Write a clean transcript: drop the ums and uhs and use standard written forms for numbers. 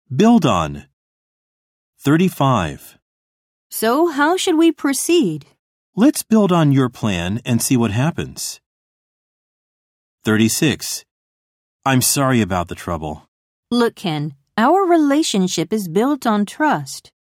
Build on. 35. So how should we proceed? Let's build on your plan and see what happens. 36. I'm sorry about the trouble. Look, Ken, our relationship is built on trust.